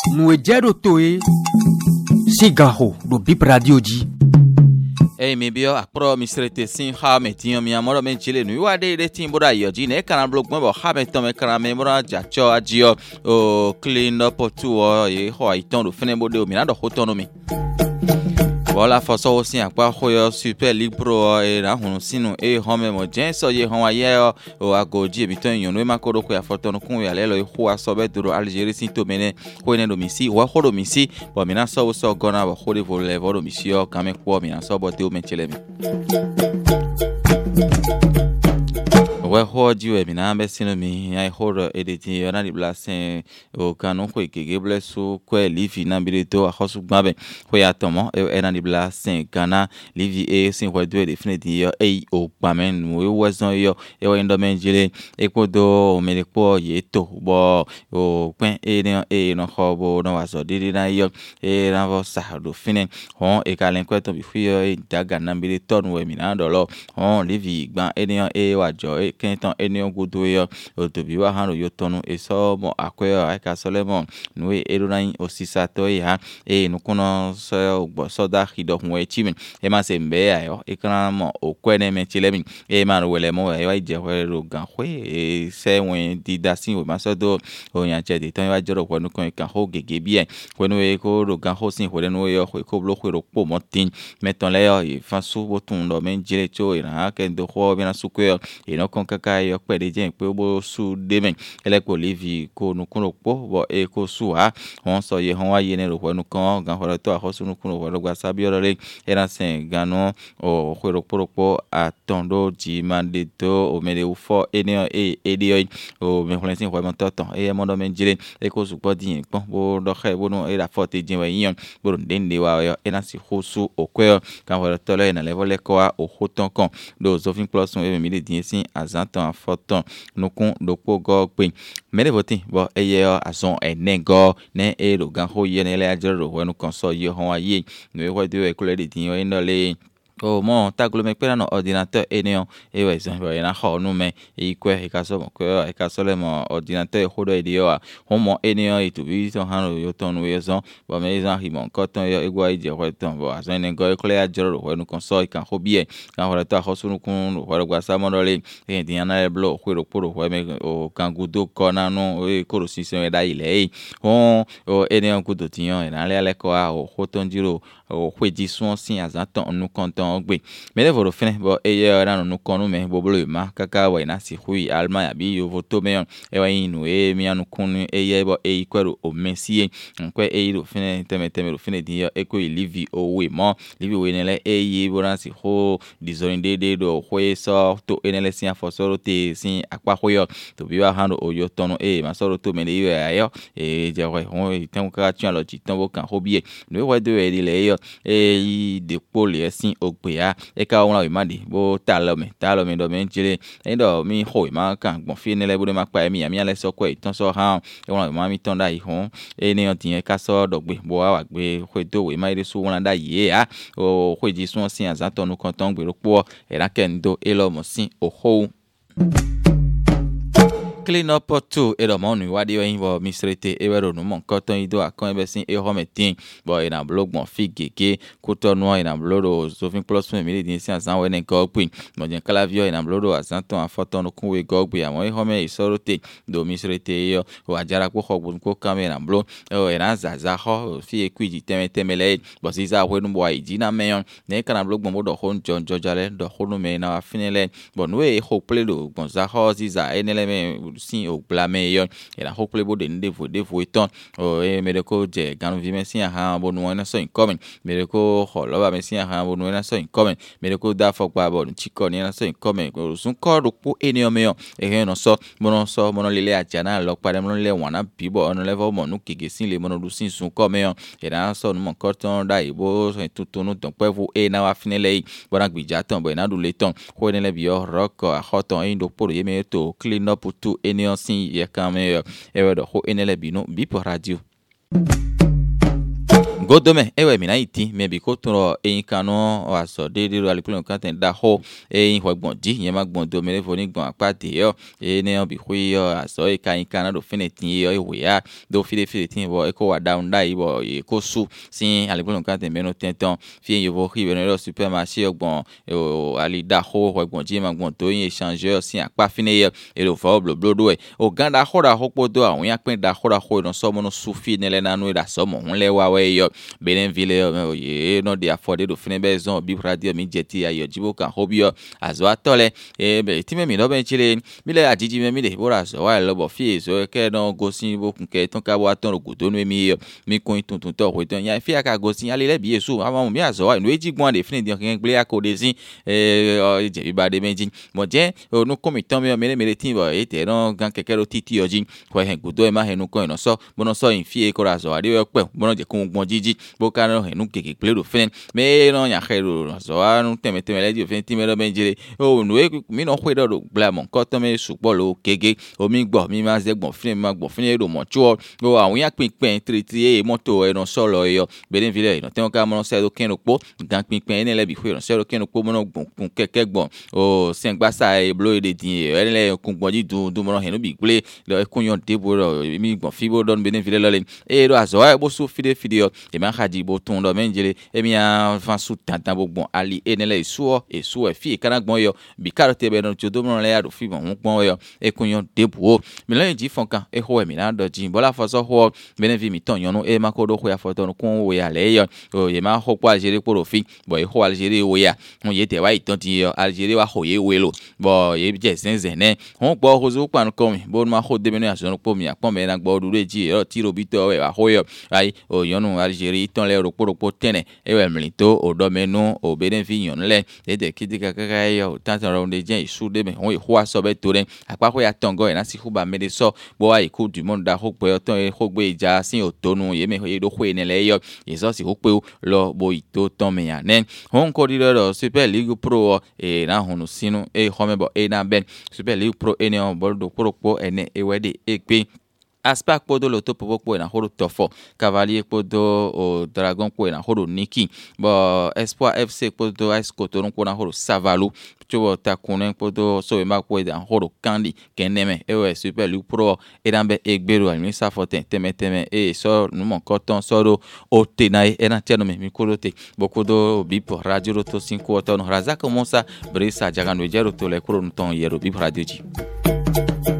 Nous ejero toe Sigaho do Bip Radio di. Mebio akpro misrete sin ha metinyo mi amoro men chile nu wa de timbura yo ji ne kana blog mo ha meto me kana me mora jacho ajio o clean up tu o e ho iton do fene bo de o mi na do hotono mi. Voilà façon aussi à quoi khoyo Super League Pro et na hunu sinu e home mo jenso ye hon aye o agoji biton yon no makoro ko ya foto no kun ya lelo e ho asobe duro Algerie sin to mene ko ne do misi wa ho do misi bo mina so gona ba ho de voler do misi o kame ko mina so bo te o menchele mi. Ouais, hoji we mina ambe sino mi ai horo editi yana di blasen o kanon ko ikege blesu ko livi na bilito a hosu gbabe ko ya tomo yana di blasen kana livi e sin ko do definitely yo e o pamen we wazon yo e o endo menjile e ko do o mele ko ye to bo o pen e no hobo no waso didi na yo e na vo sa do finen hon e kalen ko to bi fuyo e daga na bilito no we mina do lo hon livi gban e wajo kenton enion gudu yo otobi wa hanu yo tonu eso mo akwe aka solemo nwe erunan osisa to ya nukuno so gbo soda hido hwe chimin e ma se mbe ayo ekran mo okwene me chilemi e ma wele mo wa ije hwe ro gan hwe se wen di dasin we ma so do oyan che de ton wa joro ko nu kan ho gege bi ko nu e ko ro gan ho sin hwe nu yo hwe ko blo hwe ro po mo tin meton le yo e fa su botun do men jile cho ira ke do ho bi na su ko e no kaka yo pede jen pe bo su demen ele ko livi ko nu kuno po bo e ko su ha won so ye hon wa ye ne ro ko nu kan gan ho to a ho su nu kuno wo gba sabi oro le era sen ganu o hwero poropo atondo ji mande to o mele u fo ene dio o me hlensin ho mo toton e mo do men jire e ko su po din pon bo do khe bo no e la forte jin we yin bo ndende wa yo era si ho su o kwe kan ho to le na level ko a o hoton kan do zofin plus e mi le din sin azantan foton nukun dopo go pe mele votin bo eye azon enego ne e ro gan ho ye ne le ajero wonu kan so ye hon aye no e wo de e kule de tin yo indole o mo taglo me pera no ordinateur eneo e we so bo na ho nu me e kwe e ka so mo kwe e ka so le mo ordinateur ho do edio a ho mo eneo e tu bi so han yo ton we so bo me zan hi mo ko ton yo e gwa ije ho ton bo azon ne go e kule ajero wonu kan so e kan ho bi e kan ho to ho sunu kun ho gwa sa mo dole e din na le blo ho ro poro ho me o kan gudo ko na no e ko ro si se e da ile e ho o eneo gudo tin yo e na le ko a o ho ton jiro o hweji suon sin azanton nu konton ogbe mele voro fene bo eye ra nu konu me bo bolo ma kaka wa na si hui alma ya bi yo voto me e wa inu e mi anu kunu eye bo e kwero o mesie nkwe e ro fene teme ro fene di yo e ko livi o we mo livi we nele eye bo na si ho dizonde de do hwe so to enele sin afosoro te sin akwa hoyo to bi wa hando o yo tono e ma soro to mele yo ayo e je we ho ten ka tun lo ti ton bo kan hobie no we do e le yo e de pole sin ogbeya e ka won la madi bo ta lo me do me jire e do mi ho ma kan gbon fi ne le bo ma pa mi le so ko itan so ha e won la ma mi ton da yi hon e ni on tin e ka so dogbe bo wa gbe ko do we ma ire so won da yi a o ko ji sun sin azanton nu kan ton gbe ro po e ra ken do e lo mo sin o ho clean up to e do mo nu wa de yin bo misrete e wero nu mo nkan ton ido akon ebe sin e ho metin bo e na blog mo fi gege ko to nu e na blog zofin plus me mi din sin azan we ne ko pin mo jen clavio e na blog azanton afoton nu kun we go gbe àwọn e ho me isorote do misrete yo o ajara ko hogbun ko kame na blog e na zaza ho fi e kwiji temele bo si za we nu bo iji na meyon ne kana blog mo do hon jojale do honu me na finele bo nu e ho play do bon za ho si za enele me sin o blame yo e la hopefully bo de vo eton o e me de ko je ganu vi me sin ha bo nu na so incoming me de ko ho lo ba me sin ha bo nu na so incoming me de ko da fo pa bo chiko ni na so incoming ko sun ko ro po eni o me yo e he no so mo lele ajana lo pa de mo le won na bi bo on level mo nu kege sin le mo no du sin sun ko me yo e na so nu mo ko ton da ibo so tutunu ton pe vo e na wa finele bo na gbija ton bo na du le ton ko ne le bi yo rock a hoton e ndo poro ye me to clean up to eni sin ye kame e we do ho enele binu Bip Radio godome ewe mina iti me bi ko tun eyin kanu aso dede ro alipun kan ten da ho eyin hogbon ji yen ma gbon do mere fo ni gbon apate yo ne bi hui yo aso e kan kan do finetin yo iwe ya do finetin bo e ko wa down dai bo e ko su sin alipun kan ten meno tenton fi yo vo ri ro supermarché ogbon ali da ho hogbon ji ma gbon to yin échangeur sin apa fine yo e lo fo bloblodo e o ganda ho da ho podo awon ya pin da ho no so mo no su fi ne le nanu da so mo hun le wa we yo Benenville oye no dey afford do fine bezon bi radio mi jeti ayo jibo kan hobio azo atole be ti me mi no ben chile mi le ajiji me mi de bora so wa lo bo fi so ke no go sin bo kun ke ton ka bo aton ro do no mi kun tuntun to ho ton ya fi aka go sin ale le bi eso ama mi azo wa no eji gbon de fine di kan gbe akode sin je bi ba de meji mo je no komi ton mi le tin bo e te no gan keke ro titi oji ko hen gudo e ma henu ko no so bo no so in fi e ko ra so wa de pe bo no je kun gbon jiji bokano henu keke plero fen me no nya khero so anu teme le di fen timero benjire o nu e mi no hwe do blamon ko to me supo lo kege o mi gbo mi ma ze gbon fin ma gbon fin ero mo chuo o awon ya pinpin tri moto e no solo yo Benenville no ten ka mo se do ken opo gan pinpin ene le bi hwe no se do ken opo mo no gbon kun keke gbon o sen gbasa e blo de din e le kun gbon ji du mo no henu bi gble lo e kun yon debo mi gbon fibo don Benenville lo le e do azo e bo su fide e ma khadi bo ton do menjele e mi an fan su tantan bo gbon ali enele isu e fi kana gbon yo bi karote be no jodo mo le ado fi bon gbon yo e kun yon debo mi lo ji fon kan e ho e mi na do ji bola foso ho Benenville mi ton yon no e ma ko do ho ya foto no kun wo ya le yo o ye ma ho po Algerie poro fi bo e ho Algerie wo ya won ye te wa iton ti yo Algerie wa ho ye we lo bo ye je zenzen ne won gbo ho zo pa no ko mi bo ma ho de me no aso no po mi apon me na gbo du reji e ti ro bi to we wa ho yo ai o yonu Algerie ton le roporopo tene ewe mlito odomenu o Benenville yon le de kidika kaka yo tantan ro de jen isu de me won ho aso be to re apako ya tongo e na si huba me de so bo ai ku du monde da ho pe ton e ho gbe ija sin otonu ye me ho do ho ene le yo yeso si ho pe lo bo ito ton me yan nen hon ko di lo Super League Pro e na honu sinu e ho me bo e na ben Super League Pro ene on bo do poropo ene e we de e pe Aspak podo lo topo popo na horo tofo Cavalier podo o Dragon ko na horo Niki bo Espoir FC podo Ice Cotonou ko na horo Savalu chobo takunen podo so ma ko na horo Kandi keneme e Super League Pro e dambe egbero almi sa foten teme e so no mon koton so do o tenai e na tiano mi ko te bokodo bipo radio roto 5 ton razaka monsa brisa jagano jero to le ko ton yero bipo radio ji